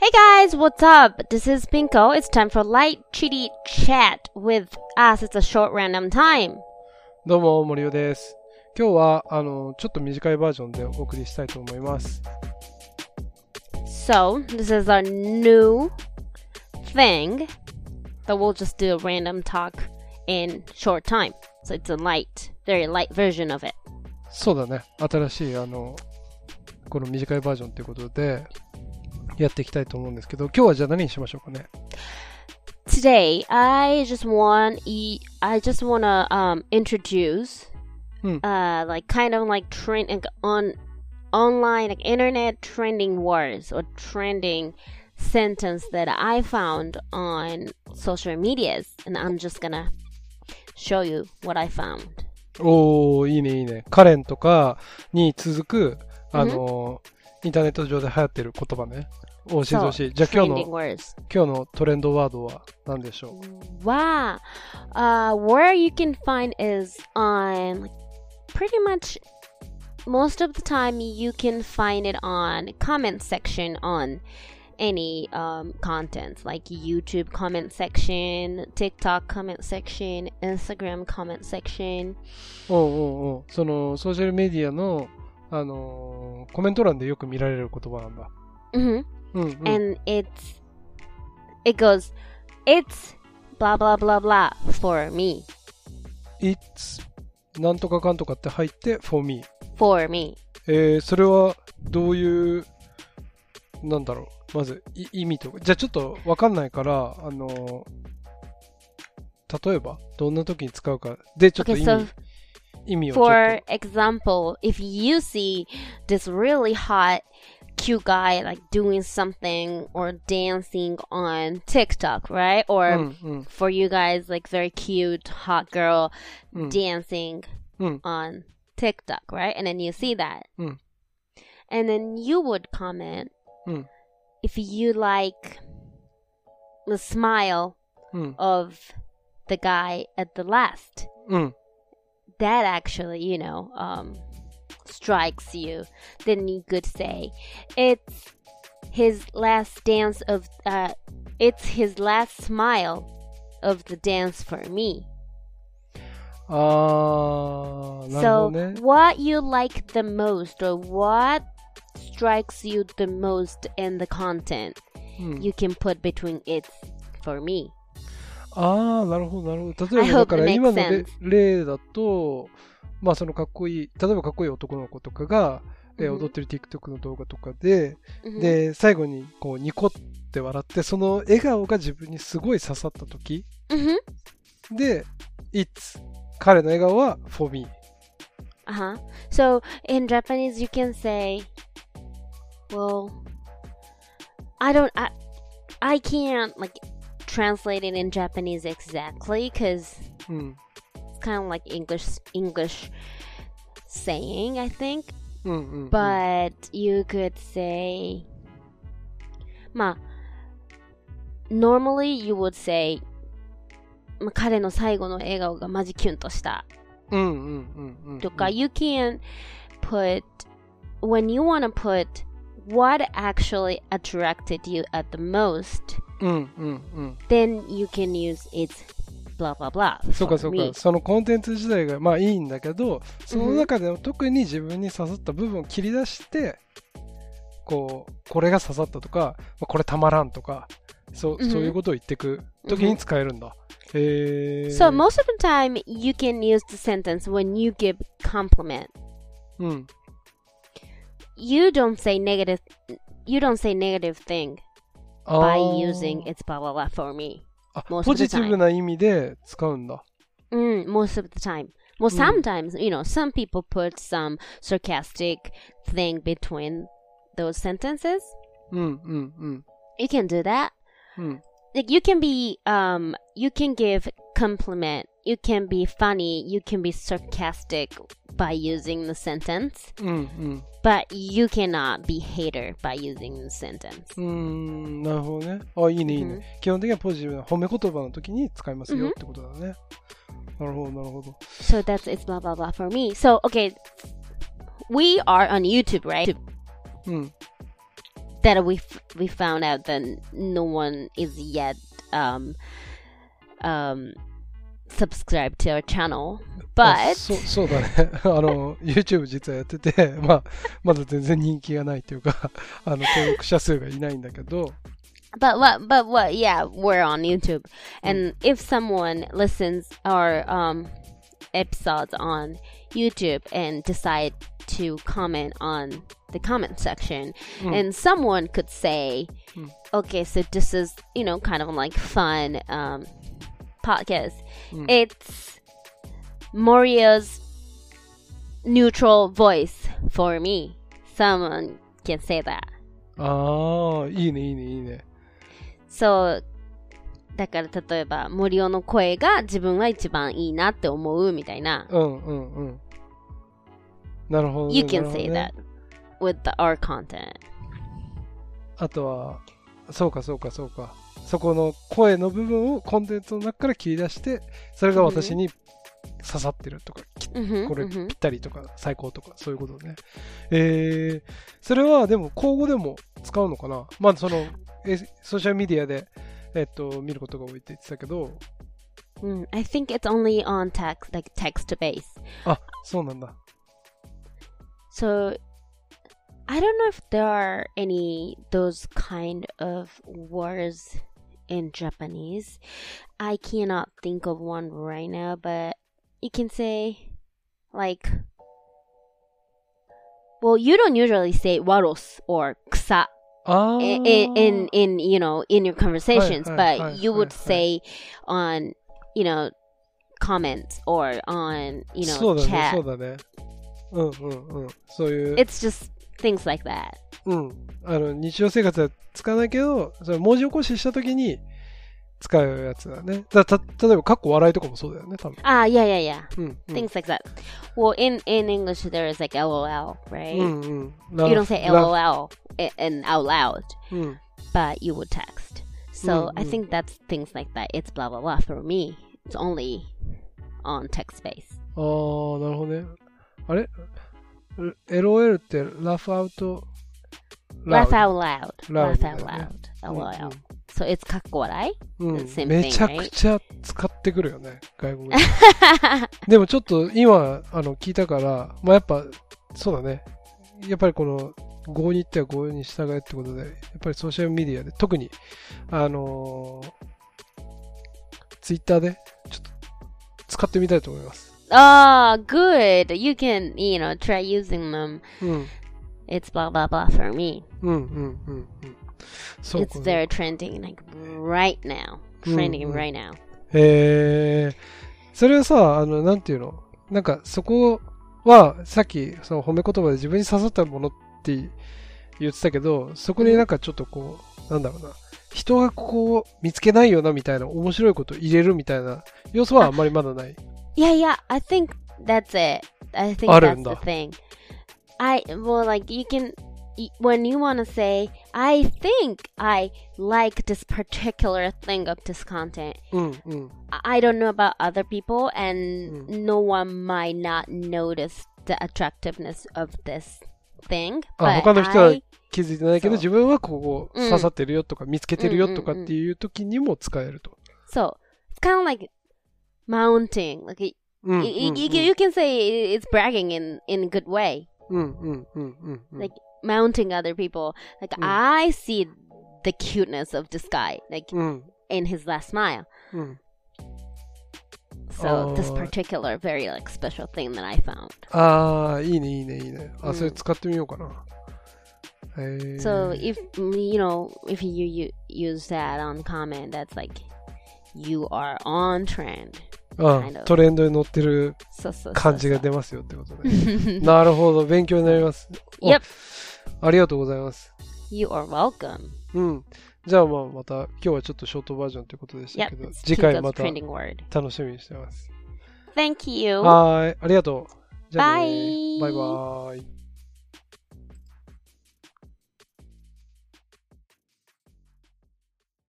Hey guys, what's up? This is Pinko. It's time for light chitty chat with us. It's a short random time. どうも森尾です。今日はちょっと短いバージョンでお送りしたいと思います。 So, this is a new thing that we'll just do a random talk in short time. So it's a very light version of it. そうだね。新しいこの短いバージョンということでやっていきたいと思うんですけど、今日はじゃあ何にしましょうかね。 Today, I just wanna introduce like kind of like trend on online like internet trending words or trending sentence that I found on social medias, and I'm just gonna show you what I found. おー、いいねいいね。カレンとかに続くインターネット上で流行ってる言葉ね。教えてほしい。じゃあ今日のトレンドワードは何でしょう？ Wow. Where you can find is on pretty much most of the time you can find it on comment section on any content like YouTube comment section, TikTok comment section, Instagram comment section. そのソーシャルメディアのコメント欄でよく見られる言葉なんだ。 And it goes, it's blah blah blah blah for me. It's なんとかかんとかって入って for me. For me. それはどういうなんだろう。まず意味とか。じゃあちょっとわかんないから例えばどんな時に使うかでちょっと意味をちょっと。 For example, if you see this really hot cute guy like doing something or dancing on TikTok, right? Or for you guys like very cute hot girl dancing on TikTok, right? And then you see that. And then you would comment if you like the smile of the guy at the last. That actually, strikes you, then you could say it's his last smile of the dance for me. なるほどね。 So what you like the most or what strikes you the most in the content, you can put between it's for me. なるほどなるほど。例えばだから今の例だとまあそのかっこいい、例えばかっこいい男の子とかが、踊ってる TikTok の動画とかで、で、最後にこうニコって笑って、その笑顔が自分にすごい刺さった時、で、It's 彼の笑顔は for me. So in Japanese you can say, well, I can't like translate it in Japanese exactly because kind of like English saying, I think. But you could say, normally you would say, 彼の最後の笑顔がマジキュンとした。とか、you can put, when you want to put what actually attracted you at the most, then you can use it's blah blah blah. そうかそうか。そのコンテンツ自体がまあいいんだけど、その中でも特に自分に刺さった部分を切り出して、これが刺さったとか、これたまらんとか、そういうことを言っていく時に使えるんだ。 So most of the time you can use the sentence when you give compliment. You don't say negative thing by using it's blah blah blah for me. ポジティブな意味で使うんだ。 Most of the time. Well, sometimes, some people put some sarcastic thing between those sentences. You can do that. Like you can give compliment. You can be funny. You can be sarcastic by using the sentence. But you cannot be hater by using the sentence. なるほどね。いいねいいね。基本的にはポジティブな褒め言葉の時に使いますよってことだね。なるほどなるほど。 So that's it's blah blah blah for me. So okay, we are on YouTube, right? that we found out that no one is yet subscribed to our channel. But そうだね。YouTube 実はやってて、まだ全然人気がないというか、登録者数がいないんだけど。 But what? Yeah, we're on YouTube, and if someone listens our episodes on YouTube and decide to comment on the comment section, and someone could say, okay, so this is, kind of like fun podcast. It's Morio's neutral voice for me. Someone can say that. ああ、いいね。 そう、だから例えば森尾の声が自分は一番いいなって思うみたいな。 なるほど。 You can say that with our content. あとは、そうか。そこの声の部分をコンテンツの中から切り出して、それが私に刺さってるとか、これぴったりとか、最高とか、そういうことね。それはでも、口語でも使うのかな？ソーシャルメディアで、見ることが多いって言ってたけど。 I think it's only on text, like text based. あ、そうなんだ。 So, I don't know if there are any those kind of words in Japanese. I cannot think of one right now, but you can say, like, well, you don't usually say waros or kusa in your conversations, but you would say on, comments or on, chat. そうだね。そういう。 It's just things like that. 日常生活は使わないけど、それ文字起こししたときに使うやつだね。例えば、かっこ笑いとかもそうだよね、多分。 Yeah. Things like that. Well, in English, there is like LOL, right? You don't say LOL and out loud, but you would text. So I think that's things like that. It's blah, blah, blah. For me, it's only on text space. なるほどね。あれLOL って laugh out loud. LOL. So it's かっこ笑い、 めちゃくちゃ使ってくるよね、外国で。でもちょっと今聞いたから、やっぱそうだね。やっぱりこの語に言っては語に従えってことで、やっぱりソーシャルメディアで特にツイッターでちょっと使ってみたいと思います。 Good. You can, try using them. It's blah, blah, blah for me. It's very trending, like right now. Trending right now. それはさ、なんていうの？なんかそこは、さっきその褒め言葉で自分に刺さったものって言ってたけど、そこになんかちょっとこう、なんだろうな。人がここ見つけないよなみたいな面白いことを入れるみたいな要素はあんまりまだない。 Yeah, I think that's it. I think that's the thing. Like you can, when you want to say, I think I like this particular thing of this content. I don't know about other people, and no one might not notice the attractiveness of this thing. But 他の人は気づいてないけど、自分はここ刺さってるよとか見つけてるよとかっていう時にも使えると。 So it's kind of like mounting, like you can say it's bragging in a good way. Like mounting other people. Like I see the cuteness of this guy, like in his last smile. So this particular very like special thing that I found. いいね。それ使ってみようかな。 So if you use that on comment, that's like you are on trend. トレンドに乗ってる感じが出ますよってことね。なるほど、勉強になります。 Yep. ありがとうございます。 You are welcome. じゃあまた今日はちょっとショートバージョンということでしたけど、次回また楽しみにしてます。 Thank you. はい、ありがとう。 じゃあね。バイバイ。